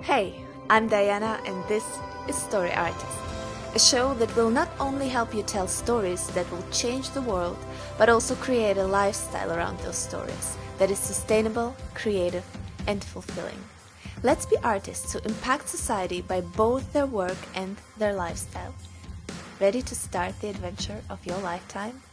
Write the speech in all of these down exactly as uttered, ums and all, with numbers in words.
Hey, I'm Diana and this is Story Artist, a show that will not only help you tell stories that will change the world, but also create a lifestyle around those stories that is sustainable, creative, and fulfilling. Let's be artists who impact society by both their work and their lifestyle. Ready to start the adventure of your lifetime?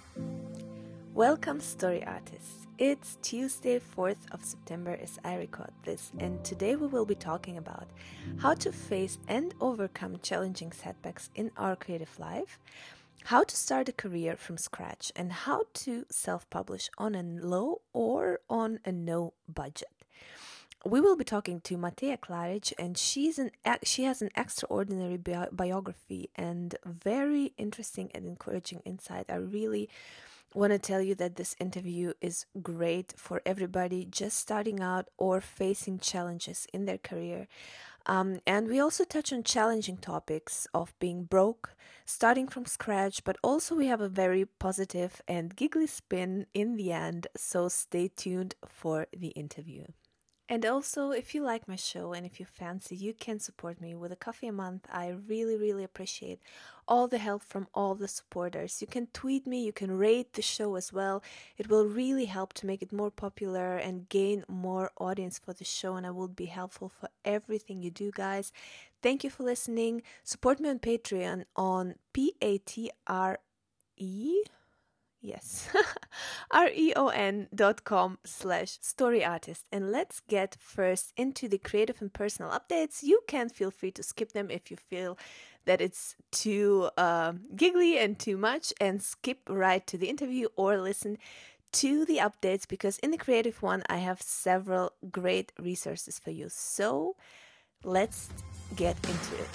Welcome, Story Artists. It's Tuesday, fourth of September as I record this, and today we will be talking about how to face and overcome challenging setbacks in our creative life, how to start a career from scratch, and how to self-publish on a low or on a no budget. We will be talking to Mateja Klaric, and she's an she has an extraordinary bi- biography and very interesting and encouraging insight. I really want to tell you that this interview is great for everybody just starting out or facing challenges in their career. Um, and we also touch on challenging topics of being broke, starting from scratch, but also we have a very positive and giggly spin in the end. So stay tuned for the interview. And also, if you like my show and if you fancy, you can support me with a coffee a month. I really, really appreciate all the help from all the supporters. You can tweet me, you can rate the show as well. It will really help to make it more popular and gain more audience for the show, and I will be helpful for everything you do, guys. Thank you for listening. Support me on Patreon on P A T R E. Yes, R-E-O-N dot com slash story artist. And let's get first into the creative and personal updates. You can feel free to skip them if you feel that it's too uh, giggly and too much, and skip right to the interview or listen to the updates, because in the creative one, I have several great resources for you. So let's get into it.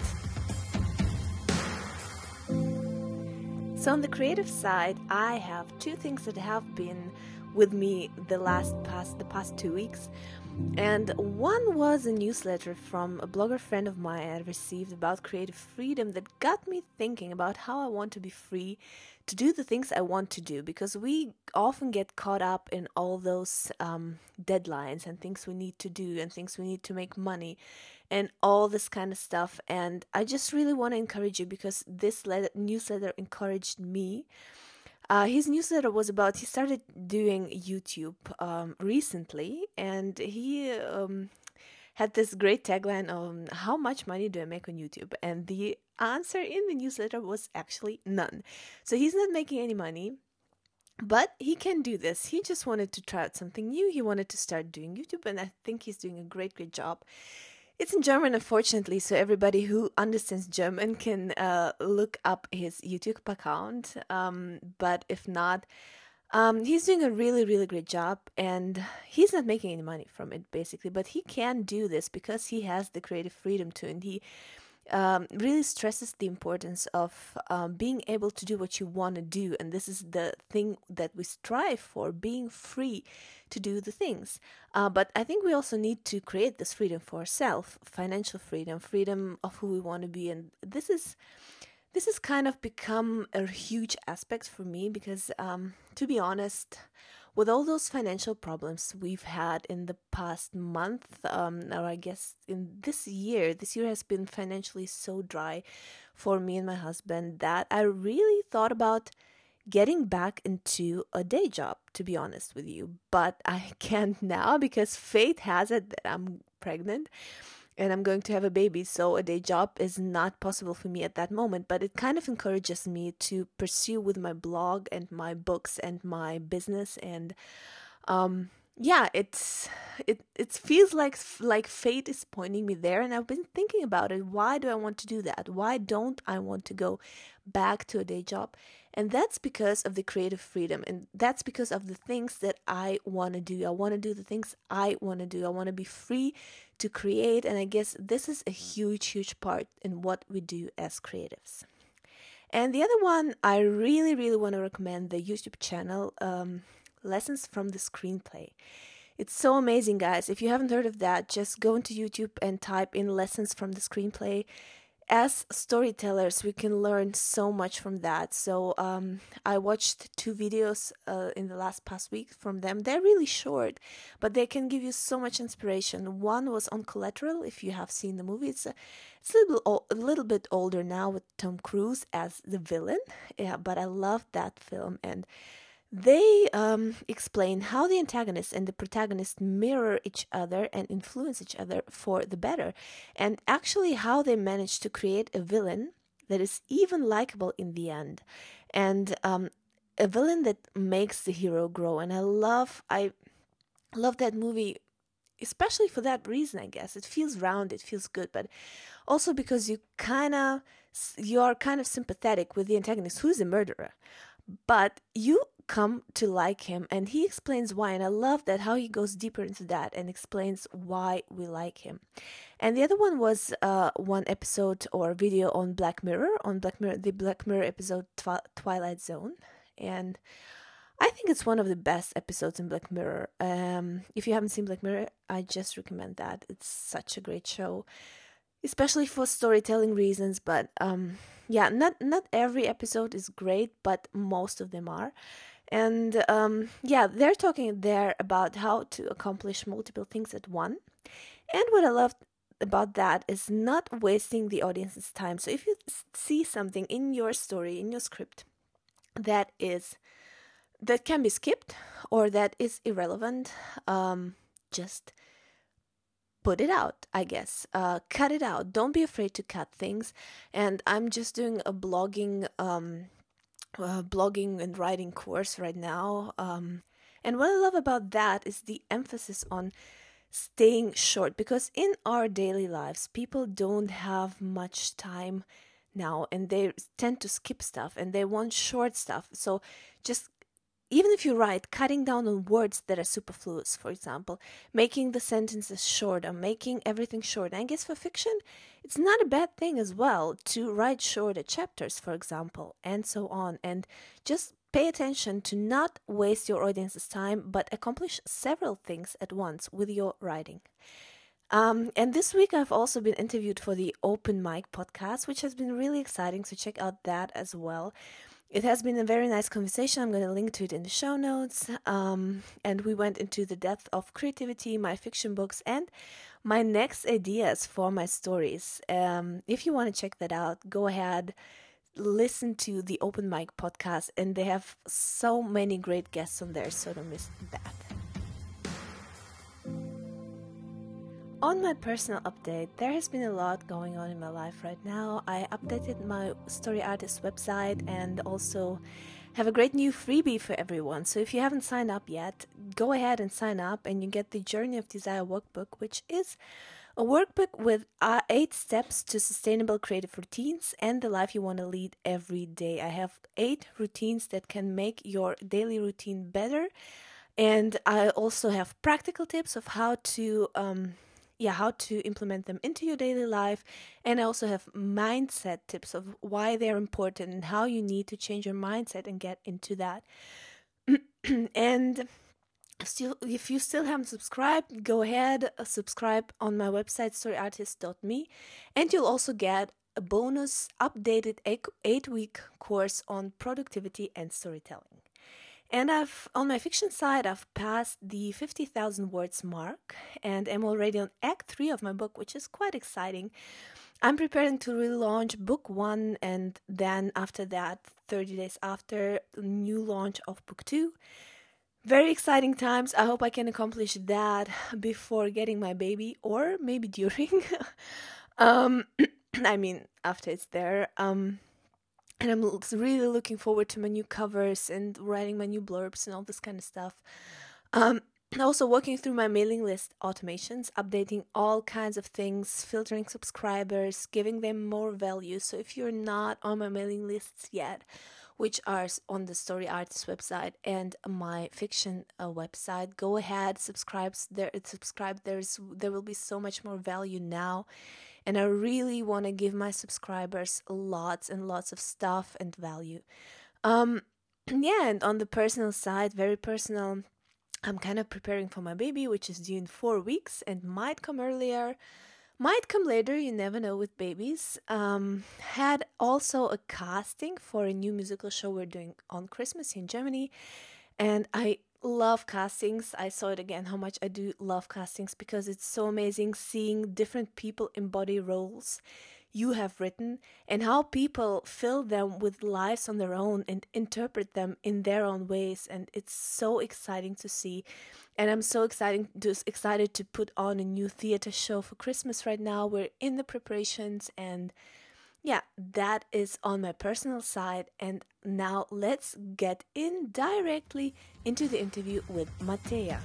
So on the creative side, I have two things that have been with me the last past the past two weeks. And one was a newsletter from a blogger friend of mine I received about creative freedom that got me thinking about how I want to be free to do the things I want to do, because we often get caught up in all those um, deadlines and things we need to do and things we need to make money and all this kind of stuff. And I just really want to encourage you, because this letter, newsletter encouraged me. Uh, his newsletter was about, he started doing YouTube um, recently, and he um, had this great tagline on how much money do I make on YouTube? And the answer in the newsletter was actually none. So he's not making any money, but he can do this. He just wanted to try out something new. He wanted to start doing YouTube, and I think he's doing a great, great job. It's in German, unfortunately, so everybody who understands German can uh, look up his YouTube account. Um, but if not, um, he's doing a really, really great job, and he's not making any money from it, basically. But he can do this because he has the creative freedom to, and he um, really stresses the importance of um, being able to do what you want to do. And this is the thing that we strive for, being free to do the things. Uh, but I think we also need to create this freedom for ourselves, financial freedom, freedom of who we want to be. And this is this has kind of become a huge aspect for me, because um, to be honest, with all those financial problems we've had in the past month, um, or I guess in this year, this year has been financially so dry for me and my husband that I really thought about getting back into a day job, to be honest with you. But I can't now, because fate has it that I'm pregnant and I'm going to have a baby, so a day job is not possible for me at that moment. But it kind of encourages me to pursue with my blog and my books and my business, and um yeah, it's it it feels like like fate is pointing me there, and I've been thinking about it. Why do I want to do that? Why don't I want to go back to a day job? And that's because of the creative freedom, and that's because of the things that I want to do. I want to do the things I want to do. I want to be free to create, and I guess this is a huge huge part in what we do as creatives. And the other one, I really really want to recommend the YouTube channel, um Lessons from the Screenplay. It's so amazing, guys. If you haven't heard of that, just go into YouTube and type in Lessons from the Screenplay. as storytellers, we can learn so much from that. So um, I watched two videos uh, in the last past week from them. They're really short, but they can give you so much inspiration. One was on Collateral, if you have seen the movie. It's a, it's a little, a little bit older now with Tom Cruise as the villain, yeah, but I loved that film. And they um, explain how the antagonist and the protagonist mirror each other and influence each other for the better, and actually how they manage to create a villain that is even likable in the end, and um, a villain that makes the hero grow. And I love, I love that movie, especially for that reason. I guess it feels round, it feels good, but also because you kind of you are kind of sympathetic with the antagonist, who's a murderer, but you come to like him, and he explains why. And I love that, how he goes deeper into that and explains why we like him. And the other one was uh, one episode or video on Black Mirror, on Black Mirror, the Black Mirror episode Twi- Twilight Zone. And I think it's one of the best episodes in Black Mirror. Um, if you haven't seen Black Mirror, I just recommend that. It's such a great show, especially for storytelling reasons. But um, yeah, not not every episode is great, but most of them are. And um, yeah, they're talking there about how to accomplish multiple things at one. And what I loved about that is not wasting the audience's time. So if you see something in your story, in your script, that is that can be skipped or that is irrelevant, um, just put it out, I guess. Uh, cut it out. Don't be afraid to cut things. And I'm just doing a blogging um, uh, blogging and writing course right now. Um, and what I love about that is the emphasis on staying short, because in our daily lives, people don't have much time now, and they tend to skip stuff and they want short stuff. So just, even if you write, cutting down on words that are superfluous, for example, making the sentences shorter, making everything short. And I guess for fiction, it's not a bad thing as well to write shorter chapters, for example, and so on. And just pay attention to not waste your audience's time, but accomplish several things at once with your writing. Um, and this week I've also been interviewed for the Open Mic podcast, which has been really exciting. So check out that as well. It has been a very nice conversation. I'm going to link to it in the show notes. Um, and we went into the depth of creativity, my fiction books, and my next ideas for my stories. Um, if you want to check that out, go ahead, listen to the Open Mic podcast, and they have so many great guests on there, so don't miss that. On my personal update, there has been a lot going on in my life right now. I updated my Story Artist website and also have a great new freebie for everyone. So if you haven't signed up yet, go ahead and sign up, and you get the Journey of Desire workbook, which is a workbook with uh, eight steps to sustainable creative routines and the life you want to lead every day. I have eight routines that can make your daily routine better. And I also have practical tips of how to... Um, yeah, how to implement them into your daily life. And I also have mindset tips of why they're important and how you need to change your mindset and get into that. And still, if you still haven't subscribed, go ahead, uh, subscribe on my website, story artist dot me, and you'll also get a bonus updated eight-week course on productivity and storytelling. And I've, on my fiction side, I've passed the fifty thousand words mark, and I'm already on Act three of my book, which is quite exciting. I'm preparing to relaunch Book one, and then after that, thirty days after, the new launch of Book two. Very exciting times. I hope I can accomplish that before getting my baby, or maybe during. um, I mean, after it's there. Um... And I'm really looking forward to my new covers and writing my new blurbs and all this kind of stuff. Um, also working through my mailing list automations, updating all kinds of things, filtering subscribers, giving them more value. So if you're not on my mailing lists yet, which are on the Story Artist website and my fiction uh, website, go ahead, subscribe. There, subscribe. There's there will be so much more value now. And I really want to give my subscribers lots and lots of stuff and value. Um, yeah, and on the personal side, very personal, I'm kind of preparing for my baby, which is due in four weeks and might come earlier, might come later, you never know with babies. Um, had also a casting for a new musical show we're doing on Christmas in Germany. And I love castings. I saw it again how much I do love castings because it's so amazing seeing different people embody roles you have written and how people fill them with lives on their own and interpret them in their own ways. And it's so exciting to see. And I'm so exciting, just excited to put on a new theater show for Christmas right now. We're in the preparations, and yeah, that is on my personal side. And now let's get in directly into the interview with Matea.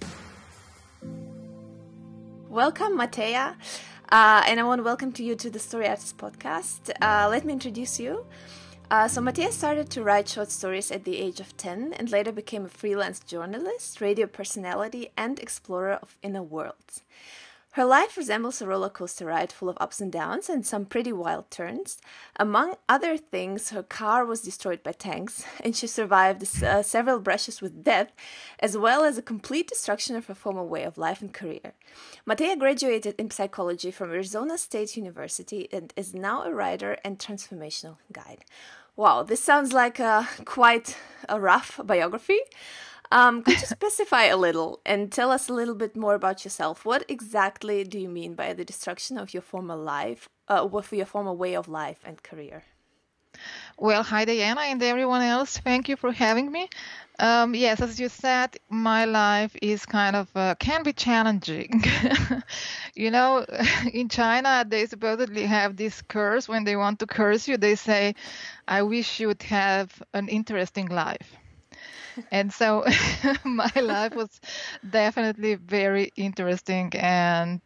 Welcome, Matea. Uh, and I want to welcome to you to the Story Artist podcast. Uh, let me introduce you. Uh, so Matea started to write short stories at the age of ten and later became a freelance journalist, radio personality, and explorer of inner worlds. Her life resembles a roller coaster ride full of ups and downs and some pretty wild turns. Among other things, her car was destroyed by tanks, and she survived uh, several brushes with death, as well as a complete destruction of her former way of life and career. Matea graduated in psychology from Arizona State University and is now a writer and transformational guide. Wow, this sounds like a, quite a rough biography. Um, could you specify a little and tell us a little bit more about yourself? What exactly do you mean by the destruction of your former life, uh, with your former way of life and career? Well, hi, Diana, and everyone else. Thank you for having me. Um, yes, as you said, my life is kind of, uh, can be challenging. You know, in China, they supposedly have this curse. When they want to curse you, they say, I wish you would have an interesting life. And so my life was definitely very interesting and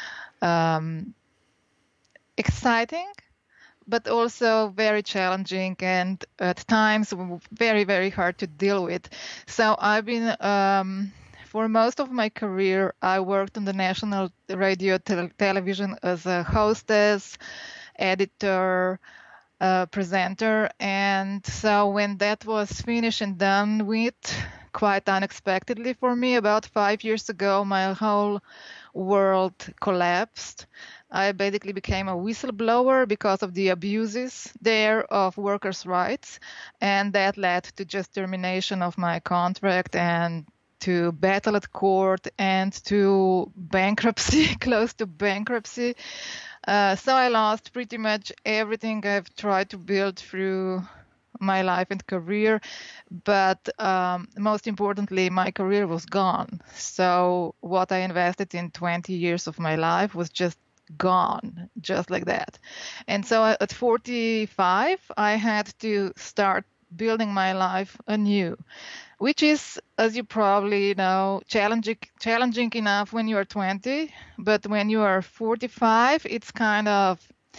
um, exciting, but also very challenging and at times very, very hard to deal with. So I've been, um, for most of my career, I worked on the national radio te- television as a hostess, editor, Uh, presenter. And so when that was finished and done with, quite unexpectedly for me, about five years ago, my whole world collapsed. I basically became a whistleblower because of the abuses there of workers' rights. And that led to just termination of my contract and to battle at court and to bankruptcy, close to bankruptcy. Uh, so I lost pretty much everything I've tried to build through my life and career. But um, most importantly, my career was gone. So what I invested in twenty years of my life was just gone, just like that. And so at forty-five, I had to start building my life anew, which is, as you probably know, challenging challenging enough when you are twenty, but when you are forty-five, it's kind of,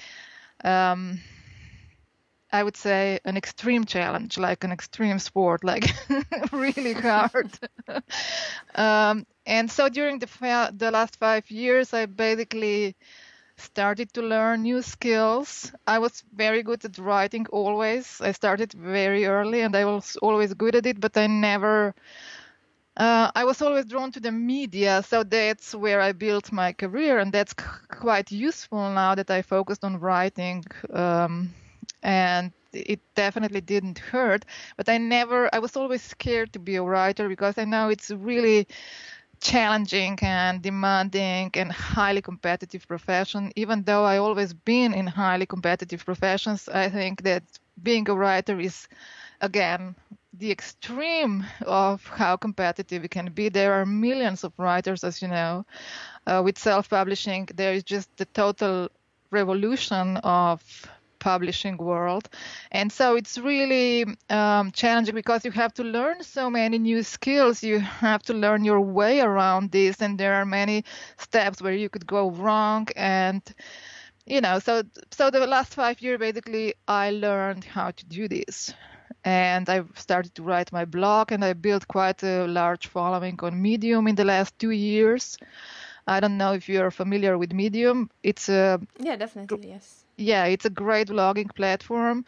um, I would say, an extreme challenge, like an extreme sport, like really hard. um, and so during the fa- the last five years, I basically started to learn new skills. I was very good at writing always. I started very early and I was always good at it, but I never, uh, I was always drawn to the media. So that's where I built my career, and that's c- quite useful now that I focused on writing. Um, and it definitely didn't hurt, but I never, I was always scared to be a writer because I know it's really challenging and demanding and highly competitive profession. Even though I always been in highly competitive professions, I think that being a writer is, again, the extreme of how competitive it can be. There are millions of writers, as you know. Uh, with self-publishing, there is just the total revolution of publishing world. And so it's really um, challenging because you have to learn so many new skills. You have to learn your way around this, and there are many steps where you could go wrong. And, you know, so so the last five years, basically, I learned how to do this. And I started to write my blog, and I built quite a large following on Medium in the last two years. I don't know if you're familiar with Medium. It's a Yeah, definitely, yes. Yeah, it's a great blogging platform.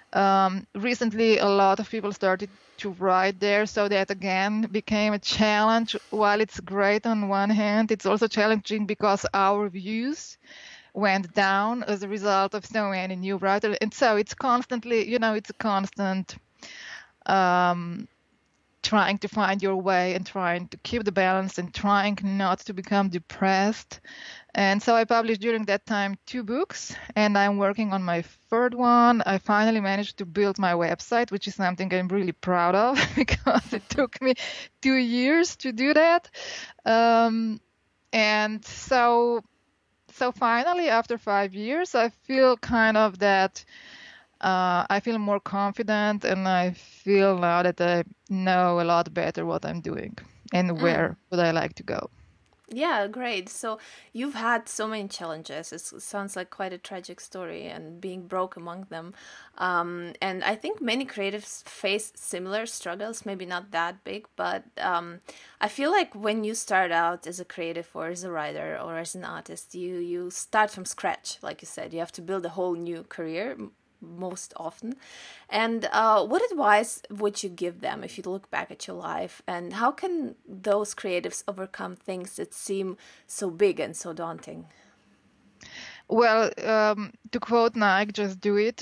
Um, recently, a lot of people started to write there, so that again became a challenge. While it's great on one hand, it's also challenging because our views went down as a result of so many new writers. And so it's constantly, you know, it's a constant um, trying to find your way and trying to keep the balance and trying not to become depressed. And so I published during that time two books, and I'm working on my third one. I finally managed to build my website, which is something I'm really proud of because it took me two years to do that. Um, and so, so finally, after five years, I feel kind of that uh, I feel more confident, and I feel now that I know a lot better what I'm doing and where would I like to go. Yeah, great. So you've had so many challenges. It's- It sounds like quite a tragic story and being broke among them. Um, and I think many creatives face similar struggles, maybe not that big, but um, I feel like when you start out as a creative or as a writer or as an artist, you you start from scratch. Like you said, you have to build a whole new career m- most often. And uh, what advice would you give them if you look back at your life? And how can those creatives overcome things that seem so big and so daunting? Well, um, to quote Nike, just do it.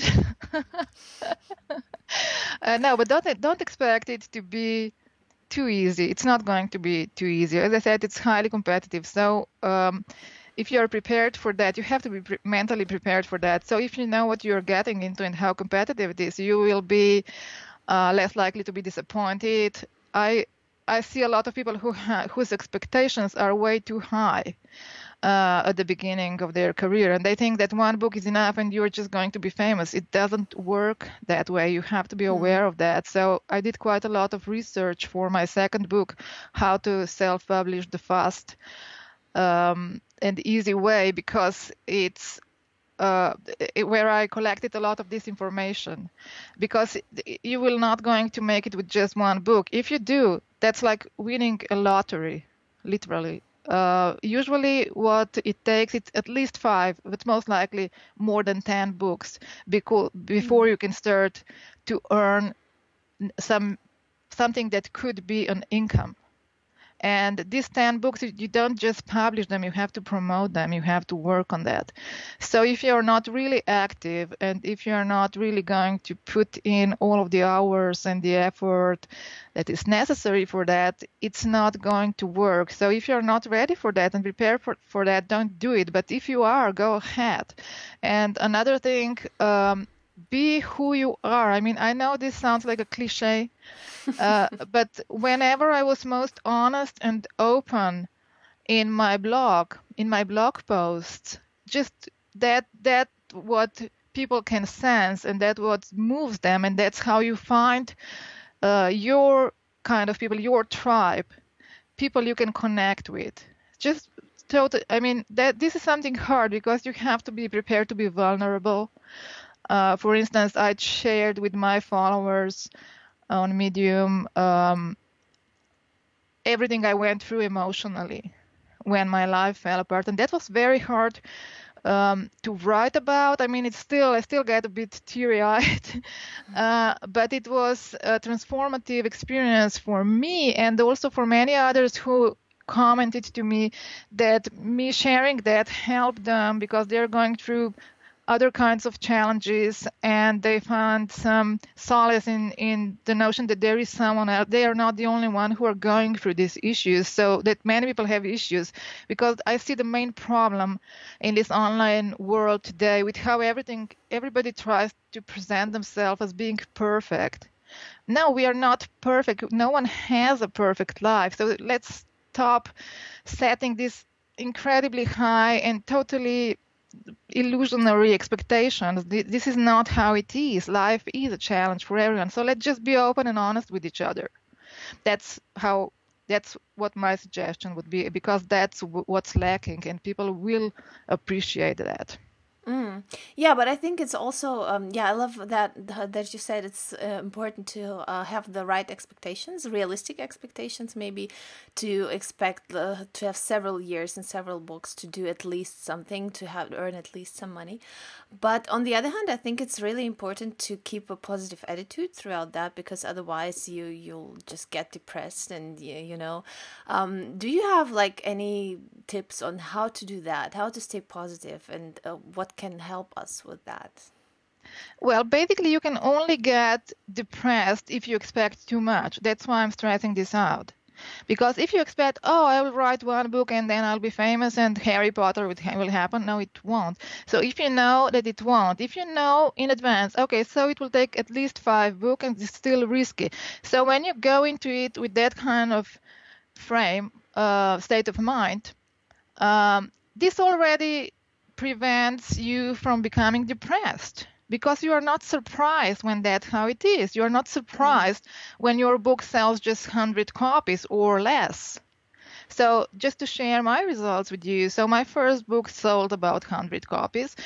uh, no, but don't don't expect it to be too easy. It's not going to be too easy. As I said, it's highly competitive. So um, if you're prepared for that, you have to be pre- mentally prepared for that. So if you know what you're getting into and how competitive it is, you will be uh, less likely to be disappointed. I I see a lot of people who ha- whose expectations are way too high uh, at the beginning of their career, and they think that one book is enough and you're just going to be famous. It doesn't work that way. You have to be aware of that. So I did quite a lot of research for my second book, how to self-publish the fast um, and easy way, because it's uh, it- where I collected a lot of this information, because you will not going to make it with just one book. If you do, that's like winning a lottery, literally. Uh, usually what it takes, it's at least five, but most likely more than ten books because before you can start to earn some something that could be an income. And these ten books, you don't just publish them, you have to promote them, you have to work on that. So if you're not really active and if you're not really going to put in all of the hours and the effort that is necessary for that, it's not going to work. So if you're not ready for that and prepared for, for that, don't do it. But if you are, go ahead. And another thing, um, be who you are. I mean, I know this sounds like a cliche, uh, but whenever I was most honest and open in my blog, in my blog posts, just that that what people can sense, and that what moves them, and that's how you find uh, your kind of people, your tribe, people you can connect with. Just total. I mean, that this is something hard because you have to be prepared to be vulnerable. Uh, for instance, I shared with my followers on Medium um, everything I went through emotionally when my life fell apart, and that was very hard um, to write about. I mean, it's still I still get a bit teary-eyed, uh, but it was a transformative experience for me and also for many others who commented to me that me sharing that helped them because they're going through other kinds of challenges, and they found some solace in, in the notion that there is someone else. They are not the only one who are going through these issues, so that many people have issues. Because I see the main problem in this online world today with how everything, everybody tries to present themselves as being perfect. No, we are not perfect. No one has a perfect life. So let's stop setting this incredibly high and totally illusionary expectations. This is not how it is. Life is a challenge for everyone. So let's just be open and honest with each other. That's how. That's what my suggestion would be, because that's what's lacking, and people will appreciate that. Mm. Yeah, but I think it's also um, yeah, I love that that you said it's uh, important to uh, have the right expectations, realistic expectations, maybe to expect the, to have several years and several books to do at least something, to have earn at least some money. But on the other hand, I think it's really important to keep a positive attitude throughout that, because otherwise you you'll just get depressed and you, you know. Um, do you have like any tips on how to do that, how to stay positive, and uh, what can help us with that? Well, basically, you can only get depressed if you expect too much. That's why I'm stressing this out. Because if you expect, oh, I will write one book and then I'll be famous and Harry Potter will happen, no, it won't. So if you know that it won't, if you know in advance, okay, so it will take at least five books and it's still risky. So when you go into it with that kind of frame, uh, state of mind, um, this already prevents you from becoming depressed. Because you are not surprised when that's how it is. You are not surprised mm-hmm. when your book sells just one hundred copies or less. So just to share my results with you, so my first book sold about one hundred copies.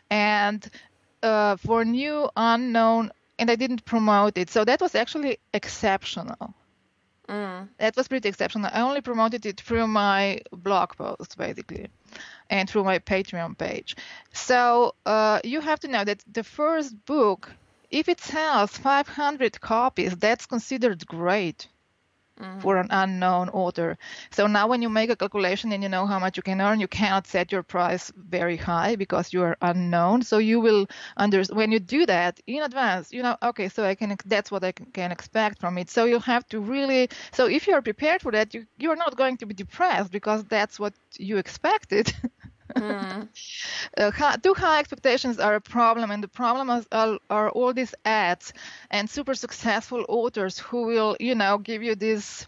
And uh, for new unknown, and I didn't promote it. So that was actually exceptional. Mm. That was pretty exceptional. I only promoted it through my blog post, basically, and through my Patreon page. So uh, you have to know that the first book, if it sells five hundred copies, that's considered great mm. for an unknown author. So now when you make a calculation and you know how much you can earn, you cannot set your price very high because you are unknown. So you will understand when you do that in advance, you know, okay, so I can, that's what I can expect from it. So you have to really, so if you're prepared for that, you, you're not going to be depressed because that's what you expected. Mm. uh, high, too high expectations are a problem, and the problem is, are, are all these ads and super successful authors who will, you know, give you this.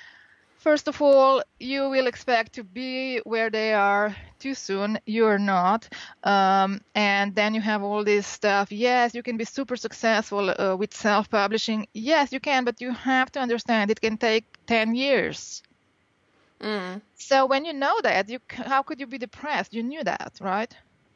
First of all, you will expect to be where they are too soon. You're not. Um, and then you have all this stuff. Yes, you can be super successful uh, with self-publishing. Yes, you can, but you have to understand it can take ten years. Mm. So when you know that, you how could you be depressed? You knew that, right?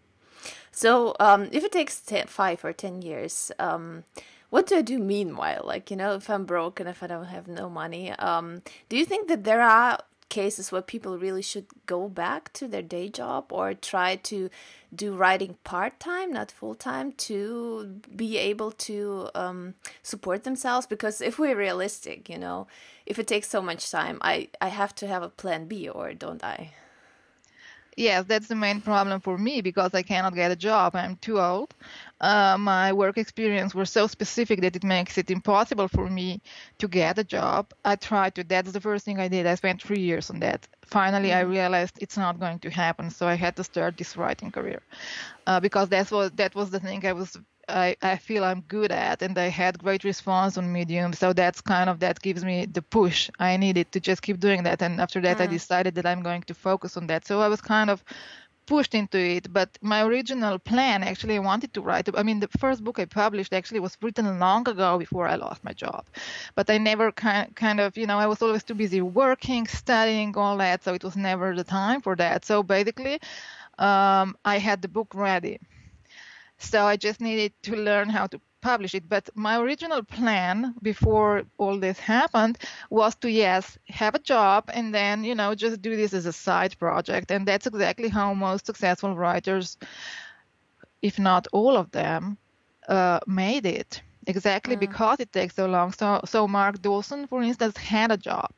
So um, if it takes ten, five or ten years, um, what do I do meanwhile? Like, you know, if I'm broke and if I don't have no money, um, do you think that there are cases where people really should go back to their day job or try to do writing part-time, not full-time, to be able to um, support themselves? Because if we're realistic, you know, if it takes so much time, I, I have to have a plan B, or don't I? Yes, that's the main problem for me because I cannot get a job. I'm too old. Uh, my work experience was so specific that it makes it impossible for me to get a job. I tried to. That's the first thing I did. I spent three years on that. Finally, mm-hmm. I realized it's not going to happen. So I had to start this writing career uh, because that's what that was the thing I was. I, I feel I'm good at, and I had great response on Medium. So that's kind of, that gives me the push I needed to just keep doing that. And after that, mm. I decided that I'm going to focus on that. So I was kind of pushed into it. But my original plan, actually, I wanted to write. I mean, the first book I published actually was written long ago before I lost my job. But I never kind, kind of, you know, I was always too busy working, studying, all that. So it was never the time for that. So basically, um, I had the book ready. So I just needed to learn how to publish it. But my original plan before all this happened was to, yes, have a job and then, you know, just do this as a side project. And that's exactly how most successful writers, if not all of them, uh, made it. Exactly mm. because it takes so long. So, so Mark Dawson, for instance, had a job.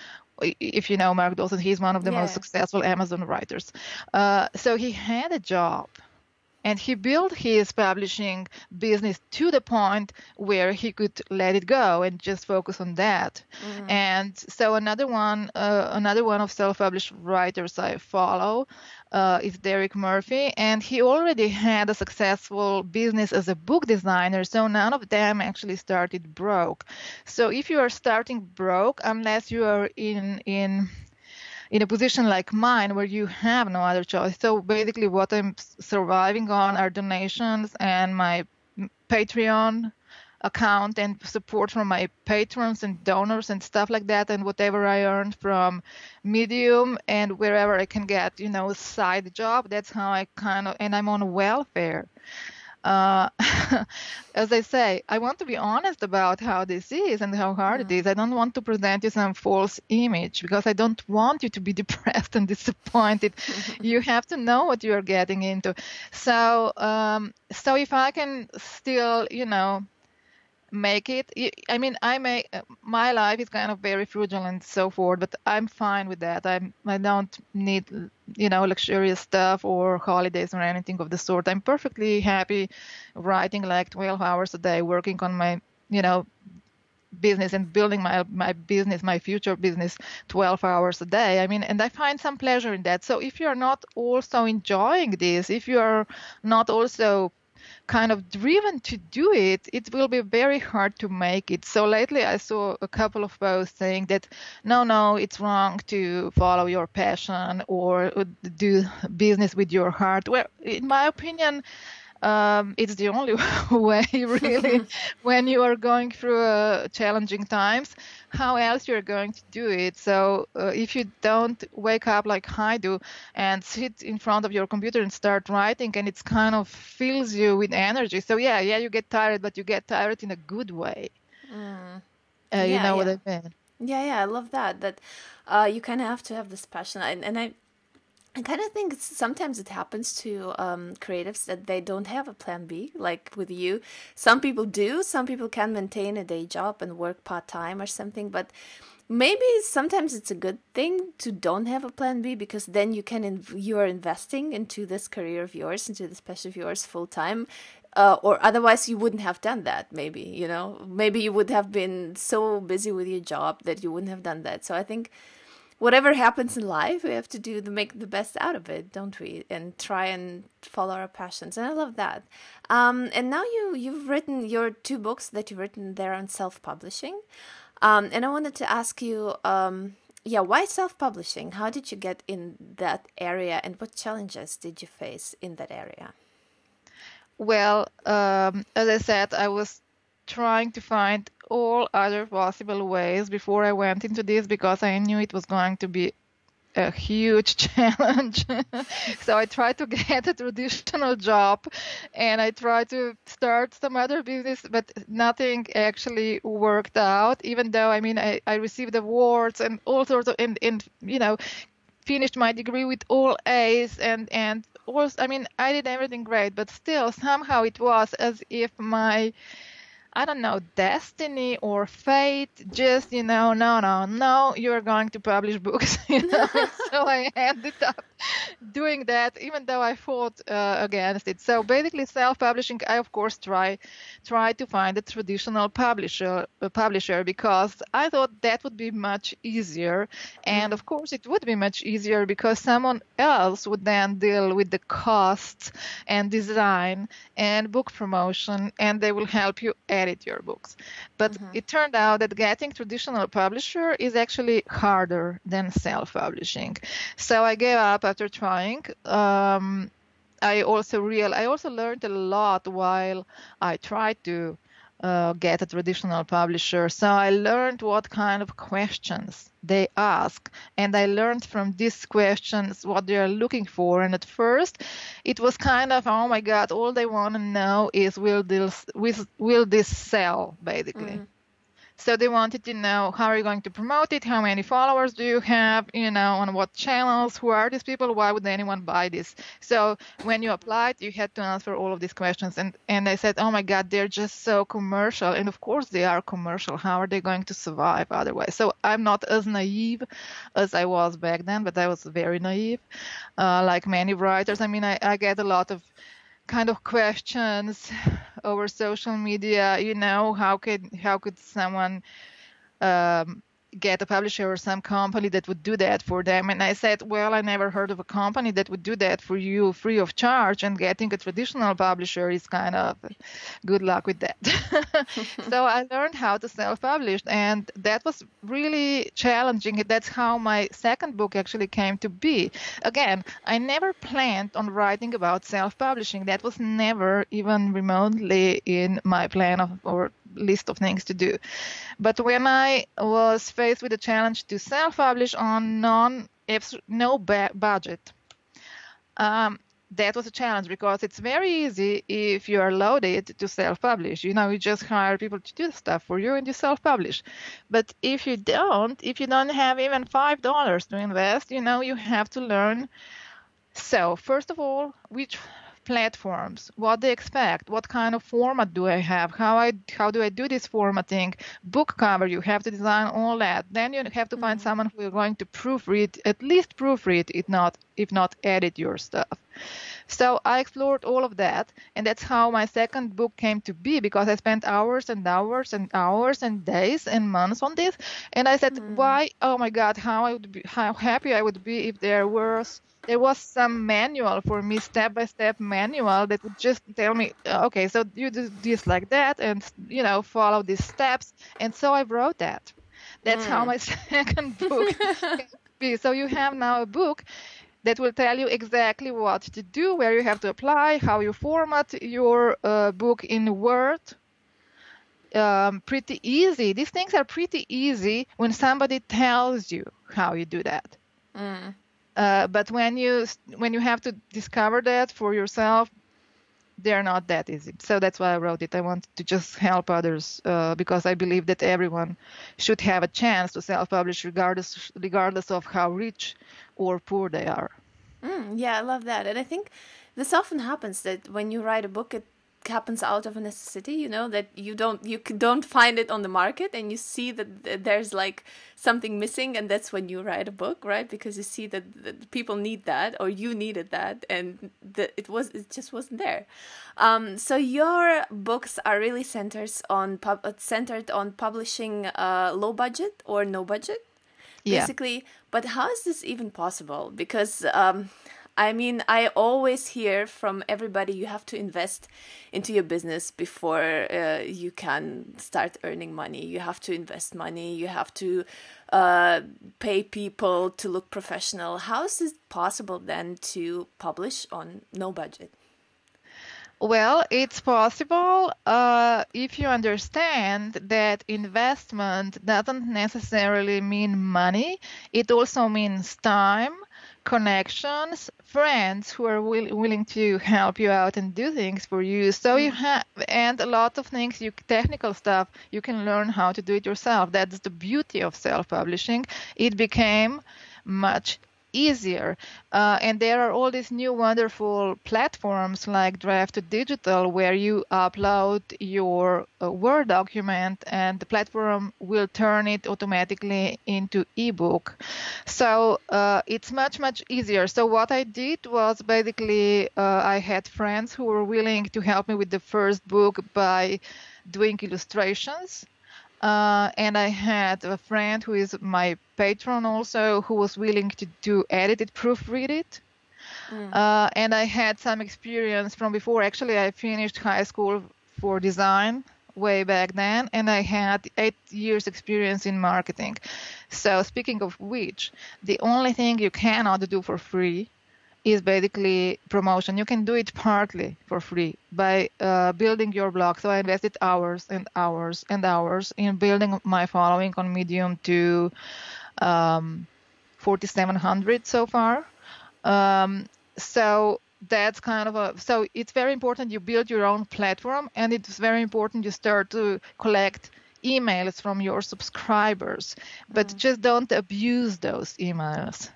If you know Mark Dawson, he's one of the yeah. most successful Amazon writers. Uh, so he had a job. And he built his publishing business to the point where he could let it go and just focus on that. Mm. And so another one, uh, another one of self-published writers I follow uh, is Derek Murphy, and he already had a successful business as a book designer. So none of them actually started broke. So if you are starting broke, unless you are in in in a position like mine where you have no other choice. So basically what I'm surviving on are donations and my Patreon account and support from my patrons and donors and stuff like that, and whatever I earned from Medium and wherever I can get, you know, a side job. That's how I kind of, and I'm on welfare. Uh, as I say, I want to be honest about how this is and how hard mm. it is. I don't want to present you some false image because I don't want you to be depressed and disappointed. You have to know what you're getting into. So, um, so if I can still, you know, make it, I mean, I make, my life is kind of very frugal and so forth, but I'm fine with that. I'm, I don't need, you know, luxurious stuff or holidays or anything of the sort. I'm perfectly happy writing like twelve hours a day, working on my, you know, business and building my my business, my future business, twelve hours a day. I mean, and I find some pleasure in that. So if you're not also enjoying this, if you're not also kind of driven to do it, it will be very hard to make it. So lately I saw a couple of posts saying that, no, no, it's wrong to follow your passion or do business with your heart. Well, in my opinion, Um, it's the only way, really, when you are going through uh, challenging times. How else you're going to do it? So uh, if you don't wake up like I do and sit in front of your computer and start writing, and it's kind of fills you with energy. So yeah, yeah, you get tired, but you get tired in a good way. Mm. Uh, yeah, you know yeah. what I mean? Yeah, yeah, I love that. That uh, you kind of have to have this passion, and, and I. I kind of think it's, sometimes it happens to um, creatives that they don't have a plan B, like with you. Some people do. Some people can maintain a day job and work part-time or something. But maybe sometimes it's a good thing to don't have a plan B, because then you can inv- you are investing into this career of yours, into this passion of yours full-time. Uh, or otherwise you wouldn't have done that, maybe, you know. Maybe you would have been so busy with your job that you wouldn't have done that. So I think whatever happens in life, we have to do to make the best out of it, don't we? And try and follow our passions. And I love that. Um, and now you, you've written your two books that you've written there on self-publishing. Um, and I wanted to ask you, um, yeah, why self-publishing? How did you get in that area, and what challenges did you face in that area? Well, um, as I said, I was trying to find all other possible ways before I went into this, because I knew it was going to be a huge challenge. So I tried to get a traditional job, and I tried to start some other business, but nothing actually worked out, even though, I mean, I, I received awards and all sorts of, and, and you know, finished my degree with all A's, and, and was, I mean, I did everything great, but still somehow it was as if my, I don't know, destiny or fate just, you know, no, no, no, you're going to publish books. You know? So I ended up doing that, even though I fought uh, against it. So basically self-publishing, I, of course, try try to find a traditional publisher, a publisher because I thought that would be much easier. And, of course, it would be much easier because someone else would then deal with the costs and design and book promotion, and they will help you edit your books. But mm-hmm. it turned out that getting traditional publisher is actually harder than self-publishing. So I gave up after trying. Um, I also real I also learned a lot while I tried to uh, get a traditional publisher. So I learned what kind of questions they ask, and I learned from these questions what they are looking for. And at first it was kind of, oh my God, all they want to know is will this will, will this sell, basically. Mm. So they wanted to know, how are you going to promote it? How many followers do you have? You know, on what channels? Who are these people? Why would anyone buy this? So when you applied, you had to answer all of these questions. And, and I said, oh my God, they're just so commercial. And of course they are commercial. How are they going to survive otherwise? So I'm not as naive as I was back then, but I was very naive, uh, like many writers. I mean, I, I get a lot of kind of questions over social media, you know, how could how could someone um, get a publisher or some company that would do that for them? And I said, well, I never heard of a company that would do that for you free of charge, and getting a traditional publisher is kind of good luck with that. So I learned how to self-publish, and that was really challenging. That's how my second book actually came to be. Again, I never planned on writing about self-publishing. That was never even remotely in my plan of, or list of things to do. But when I was faced with the challenge to self-publish on non no budget, um, that was a challenge, because it's very easy if you are loaded to self-publish. You know, you just hire people to do stuff for you and you self-publish. But if you don't, if you don't have even five dollars to invest, you know, you have to learn. So first of all, which platforms, what they expect, what kind of format do I have, how I how do I do this formatting, book cover, you have to design all that. Then you have to find mm-hmm. someone who is going to proofread, at least proofread, if not if not edit your stuff. So I explored all of that, and that's how my second book came to be, because I spent hours and hours and hours and days and months on this. And I said, mm. why? Oh my God, how I would be, how happy I would be if there was there was some manual for me, step-by-step manual that would just tell me, okay, so you do this like that, and you know, follow these steps. And so I wrote that. That's mm. how my second book came to be. So you have now a book that will tell you exactly what to do, where you have to apply, how you format your uh, book in Word. Um, pretty easy. These things are pretty easy when somebody tells you how you do that. Mm. Uh, but when you when you have to discover that for yourself, they're not that easy. So that's why I wrote it. I wanted to just help others uh, because I believe that everyone should have a chance to self-publish, regardless regardless of how rich or poor they are. Mm, yeah, I love that. And I think this often happens, that when you write a book, it happens out of a necessity, you know, that you don't you don't find it on the market, and you see that there's like something missing, and that's when you write a book, right? Because you see that, that people need that, or you needed that, and that it was it just wasn't there. Um, so your books are really centered on pub, centered on publishing uh, low budget or no budget, basically. Yeah. But how is this even possible? Because um, I mean, I always hear from everybody, you have to invest into your business before uh, you can start earning money. You have to invest money. You have to uh, pay people to look professional. How is it possible then to publish on no budget? Well, it's possible uh, if you understand that investment doesn't necessarily mean money. It also means time, connections, friends who are will, willing to help you out and do things for you. So you have, and a lot of things, you technical stuff, you can learn how to do it yourself. That's the beauty of self-publishing. It became much easier. Uh, and there are all these new wonderful platforms like Draft to Digital, where you upload your uh, Word document and the platform will turn it automatically into ebook. So uh, it's much, much easier. So what I did was basically uh, I had friends who were willing to help me with the first book by doing illustrations. Uh, and I had a friend who is my patron also, who was willing to do edit it, proofread it. Mm. Uh, and I had some experience from before. Actually, I finished high school for design way back then, and I had eight years experience in marketing. So speaking of which, the only thing you cannot do for free is basically promotion. You can do it partly for free by uh, building your blog. So I invested hours and hours and hours in building my following on Medium to um, forty-seven hundred so far. Um, so that's kind of a, so it's very important you build your own platform, and it's very important you start to collect emails from your subscribers, but mm. just don't abuse those emails.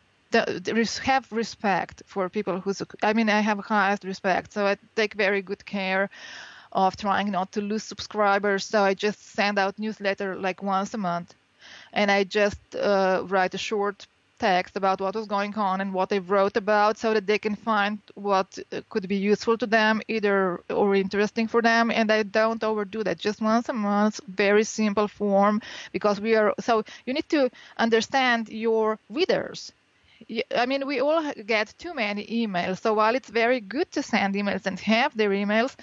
Have respect for people who, I mean, I have highest respect, so I take very good care of trying not to lose subscribers. So I just send out newsletter like once a month, and I just uh, write a short text about what was going on and what I wrote about, so that they can find what could be useful to them, either or interesting for them. And I don't overdo that. Just once a month, very simple form, because we are, so you need to understand your readers. I mean, we all get too many emails. So while it's very good to send emails and have their emails,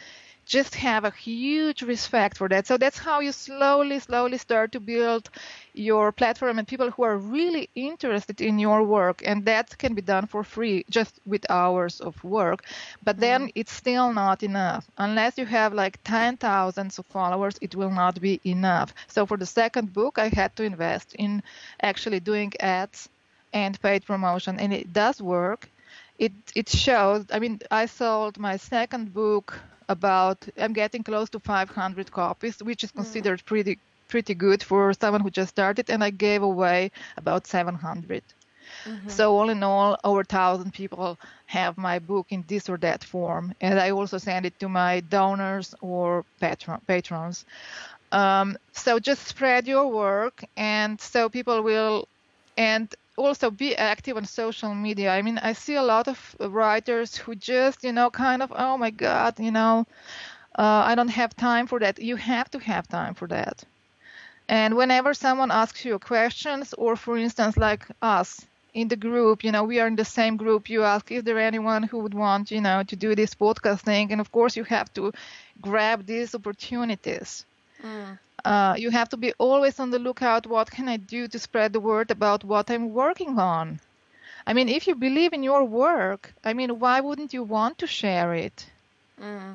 just have a huge respect for that. So that's how you slowly, slowly start to build your platform and people who are really interested in your work. And that can be done for free, just with hours of work. But then Mm. it's still not enough. Unless you have like ten thousand of followers, it will not be enough. So for the second book, I had to invest in actually doing ads and paid promotion. And it does work. It, it shows, I mean, I sold my second book about, I'm getting close to five hundred copies, which is considered pretty pretty good for someone who just started, and I gave away about seven hundred. Mm-hmm. So all in all, over one thousand people have my book in this or that form, and I also send it to my donors or patron, patrons. Um, so just spread your work, and so people will, and also be active on social media. I mean, I see a lot of writers who just, you know, kind of, oh my God, you know, uh, I don't have time for that. You have to have time for that. And whenever someone asks you questions, or for instance, like us in the group, you know, we are in the same group, you ask, is there anyone who would want, you know, to do this podcast thing? And of course, you have to grab these opportunities. Mm. Uh, you have to be always on the lookout. What can I do to spread the word about what I'm working on? I mean, if you believe in your work, I mean, why wouldn't you want to share it? Mm.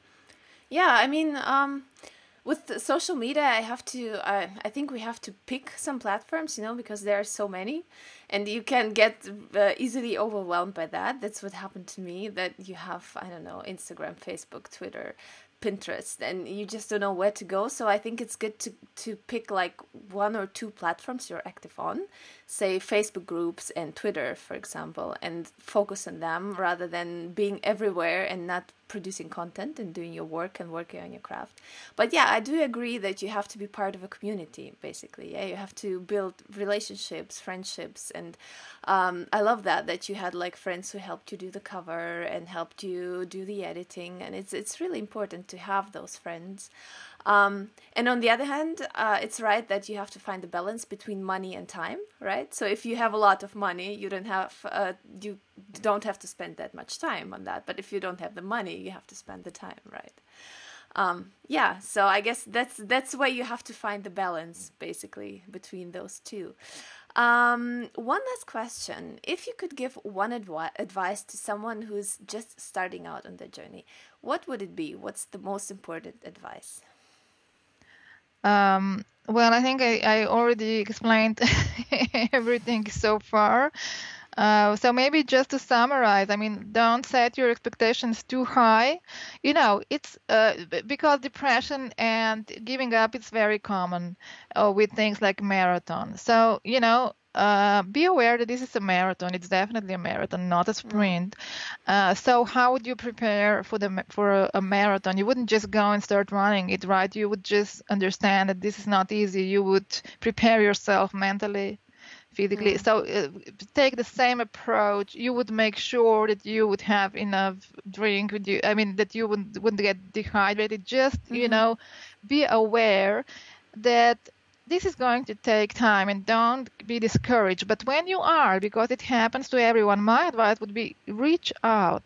Yeah, I mean, um, with social media, I have to, uh, I think we have to pick some platforms, you know, because there are so many, and you can get uh, easily overwhelmed by that. That's what happened to me, that you have, I don't know, Instagram, Facebook, Twitter, Pinterest, and you just don't know where to go. So I think it's good to, to pick like one or two platforms you're active on, say Facebook groups and Twitter, for example, and focus on them rather than being everywhere and not producing content and doing your work and working on your craft. But yeah, I do agree that you have to be part of a community, basically. Yeah, you have to build relationships, friendships, and um, I love that that you had like friends who helped you do the cover and helped you do the editing, and it's it's really important to have those friends. Um, and on the other hand, uh, it's right that you have to find the balance between money and time, right? So if you have a lot of money, you don't have uh, you don't have to spend that much time on that. But if you don't have the money, you have to spend the time, right? Um, yeah. So I guess that's that's where you have to find the balance, basically, between those two. Um, one last question: if you could give one advi- advice to someone who's just starting out on their journey, what would it be? What's the most important advice? Um, well, I think I, I already explained everything so far. Uh, so maybe just to summarize, I mean, don't set your expectations too high. You know, it's uh, b- because depression and giving up is very common uh, with things like marathon. So, you know, uh, be aware that this is a marathon. It's definitely a marathon, not a Mm. sprint. Uh, so how would you prepare for the ma- for a, a marathon? You wouldn't just go and start running it, right? You would just understand that this is not easy. You would prepare yourself mentally, physically. Mm. So uh, take the same approach. You would make sure that you would have enough drink with you. I mean, that you wouldn't wouldn't get dehydrated. Just, you Mm-hmm. know, be aware that this is going to take time, and don't be discouraged. But when you are, because it happens to everyone, my advice would be reach out.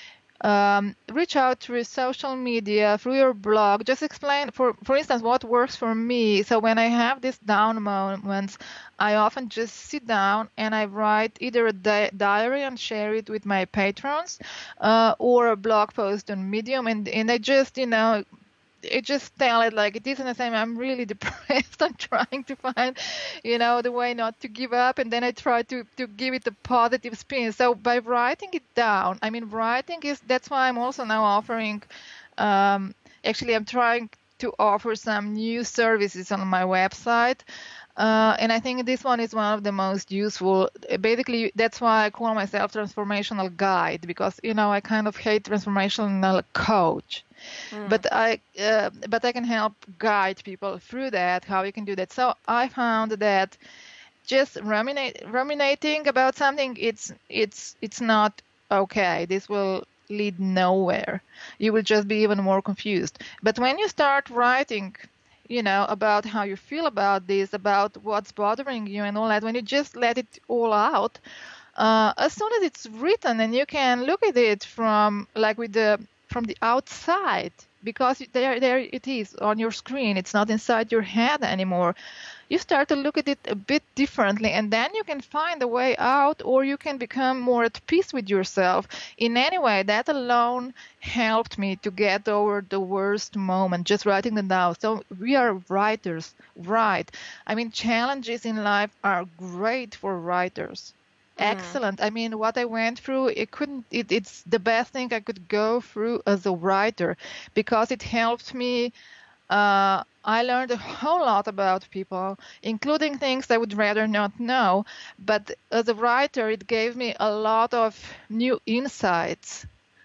Um, reach out through social media, through your blog. Just explain, for for instance, what works for me. So when I have these down moments, I often just sit down and I write either a di- diary and share it with my patrons, uh, or a blog post on Medium, and and I just, you know, it just tell it like it is, and I say I'm really depressed. I'm trying to find, you know, the way not to give up, and then I try to to give it a positive spin. So by writing it down, I mean, writing is that's why I'm also now offering. Um, actually, I'm trying to offer some new services on my website. Uh, and I think this one is one of the most useful. Basically, that's why I call myself transformational guide, because, you know, I kind of hate transformational coach. Mm. But I, uh, but I can help guide people through that, how you can do that. So I found that just ruminate, ruminating about something, it's it's it's not okay. This will lead nowhere. You will just be even more confused. But when you start writing, you know, about how you feel about this, about what's bothering you and all that, when you just let it all out, uh, as soon as it's written and you can look at it from like with the from the outside, because there, there it is on your screen. It's not inside your head anymore. You start to look at it a bit differently, and then you can find a way out, or you can become more at peace with yourself. In any way, that alone helped me to get over the worst moment, just writing them down. So we are writers, right? I mean, challenges in life are great for writers. Excellent. I mean, what I went through, it couldn't, it, it's the best thing I could go through as a writer, because it helped me. Uh, I learned a whole lot about people, including things I would rather not know. But as a writer, it gave me a lot of new insights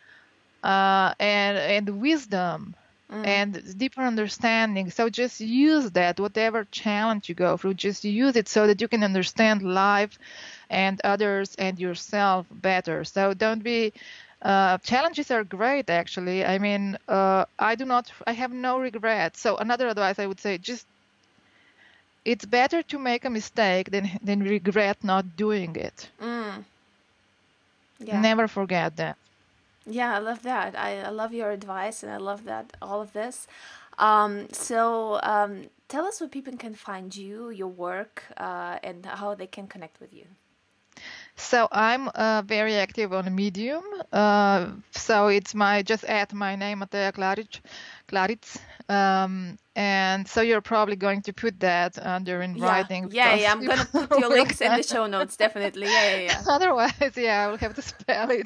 uh, and and wisdom Mm. and deeper understanding. So just use that, whatever challenge you go through, just use it so that you can understand life and others and yourself better. So don't be uh, challenges are great, actually. I mean, uh, I do not, I have no regrets. So another advice I would say, just it's better to make a mistake than than regret not doing it. Mm. Yeah. Never forget that. Yeah, I love that. I, I love your advice, and I love that all of this. Um, so um, tell us where people can find you, your work, uh, and how they can connect with you. So I'm uh, very active on Medium. Uh, so it's my just add my name, Mateja Klaric, Klaric. Um, and so you're probably going to put that under in Yeah, writing. yeah, because yeah. I'm gonna people put your will links in the get- show notes, definitely. Yeah, yeah, yeah. Otherwise, yeah, I will have to spell it.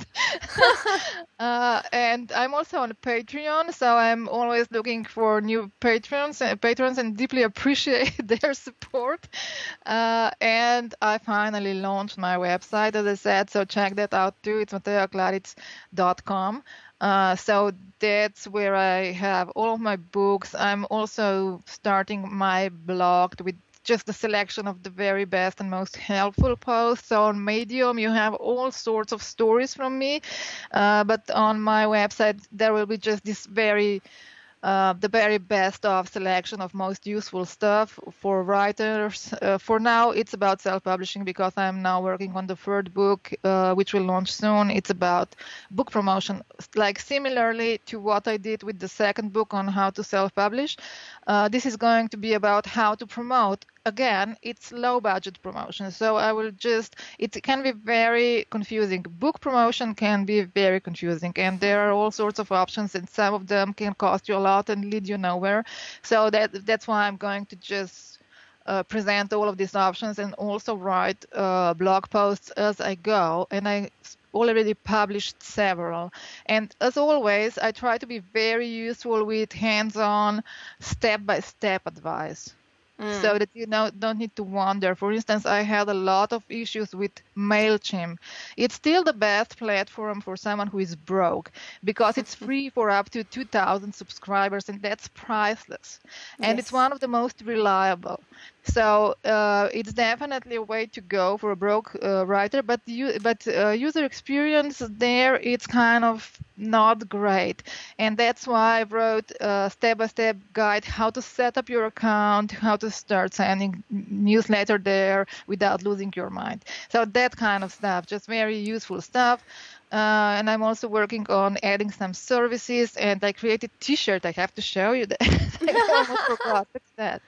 uh, and I'm also on Patreon, so I'm always looking for new patrons, uh, patrons, and deeply appreciate their support. Uh, and I finally launched my website, as I said, so check that out too. It's mateja klaric dot com. Uh, so that's where I have all of my books. I'm also starting my blog with just a selection of the very best and most helpful posts. So on Medium, you have all sorts of stories from me. Uh, but on my website, there will be just this very uh, the very best of selection of most useful stuff for writers. Uh, for now, it's about self-publishing, because I'm now working on the third book, uh, which will launch soon. It's about book promotion, like similarly to what I did with the second book on how to self-publish. Uh, this is going to be about how to promote. Again, it's low budget promotion. So I will just, it can be very confusing. Book promotion can be very confusing, and there are all sorts of options, and some of them can cost you a lot and lead you nowhere. So that that's why I'm going to just uh, present all of these options, and also write uh, blog posts as I go. And I already published several. And as always, I try to be very useful with hands-on, step-by-step advice. Mm. So that you know, don't need to wonder. For instance, I had a lot of issues with MailChimp. It's still the best platform for someone who is broke, because it's free for up to two thousand subscribers, and that's priceless. And it's Yes. one of the most reliable. So uh, it's definitely a way to go for a broke uh, writer, but you, but uh, user experience there, it's kind of not great. And that's why I wrote a step-by-step guide how to set up your account, how to start sending newsletter there without losing your mind. So that kind of stuff, just very useful stuff. Uh, and I'm also working on adding some services, and I created t-shirt. I have to show you that. I almost forgot. What's that?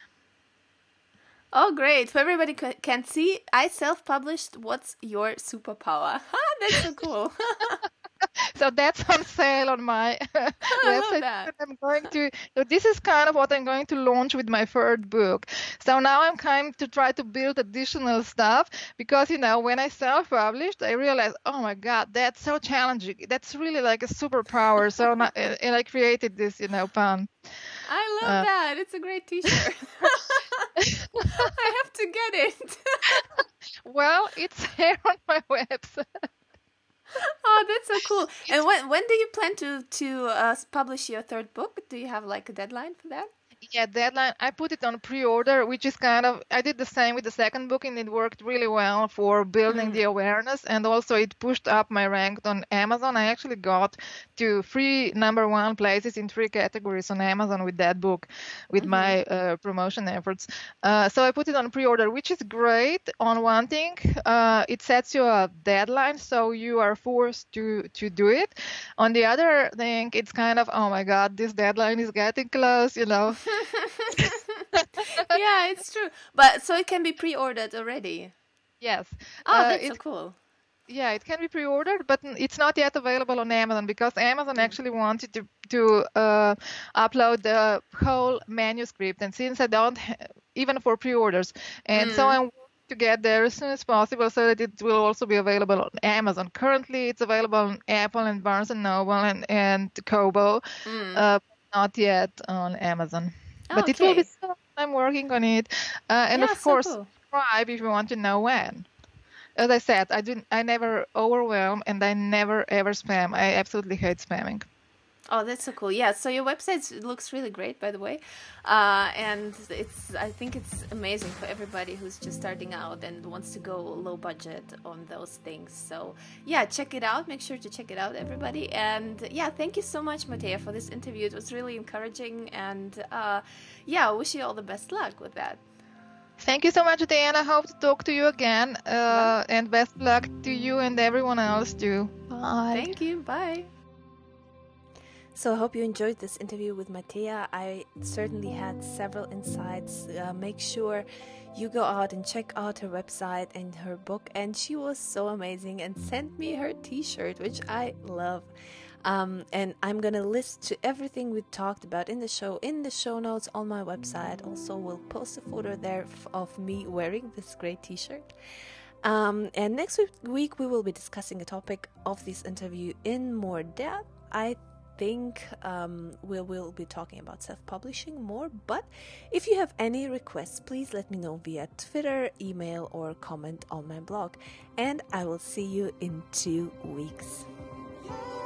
Oh, great. So everybody ca- can see, I self-published What's Your Superpower? That's so cool. So that's on sale on my love website. that. I'm going to, so this is kind of what I'm going to launch with my third book. So now I'm kind to try to build additional stuff, because, you know, when I self-published, I realized, oh my God, that's so challenging. That's really like a superpower. So now, and I created this, you know, pun. I love Uh, that. It's a great t-shirt. I have to get it. Well, it's here on my website. Oh, that's so cool. And when when do you plan to to uh, publish your third book? Do you have like a deadline for that? Yeah, deadline. I put it on pre-order, which is kind of, I did the same with the second book, and it worked really well for building Mm. the awareness. And also it pushed up my rank on Amazon. I actually got to three number one places in three categories on Amazon with that book, with Mm-hmm. my uh, promotion efforts. Uh, so I put it on pre-order, which is great on one thing. Uh, it sets you a deadline, so you are forced to, to do it. On the other thing, it's kind of, oh my God, this deadline is getting close, you know. Yeah, it's true. But so it can be pre-ordered already. Yes. Oh, Uh, that's so it cool. yeah, it can be pre-ordered, but n- it's not yet available on Amazon because Amazon Mm. actually wanted to to uh, upload the whole manuscript, and since I don't ha- even for pre-orders, and so Mm. I'm working to get there as soon as possible so that it will also be available on Amazon. Currently, it's available on Apple and Barnes and Noble and and Kobo, Mm. uh, not yet on Amazon. Oh, But it will be okay. soon. I'm working on it, uh, and Yeah, of so course, cool. subscribe if you want to know when. As I said, I didn't. I never overwhelm, and I never ever spam. I absolutely hate spamming. Oh, that's so cool. Yeah, so your website looks really great, by the way. Uh, and it's, I think it's amazing for everybody who's just starting out and wants to go low budget on those things. So, yeah, check it out. Make sure to check it out, everybody. And yeah, thank you so much, Matea, for this interview. It was really encouraging. And uh, yeah, I wish you all the best luck with that. Thank you so much, Diana. Hope to talk to you again. Bye. Uh, and best luck to you and everyone else too. Bye. Thank you. Bye. So I hope you enjoyed this interview with Matea. I certainly had several insights. Uh, make sure you go out and check out her website and her book. And she was so amazing and sent me her t-shirt, which I love. Um, and I'm going to list to everything we talked about in the show, in the show notes on my website. Also, we'll post a photo there f- of me wearing this great t-shirt. Um, and next week, we will be discussing a topic of this interview in more depth. I think um, we will be talking about self-publishing more, but if you have any requests, please let me know via Twitter, email, or comment on my blog, and I will see you in two weeks.